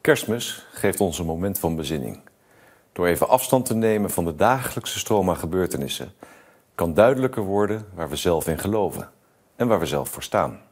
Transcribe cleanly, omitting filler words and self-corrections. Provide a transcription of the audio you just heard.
Kerstmis geeft ons een moment van bezinning. Door even afstand te nemen van de dagelijkse stroom aan gebeurtenissen, kan duidelijker worden waar we zelf in geloven en waar we zelf voor staan.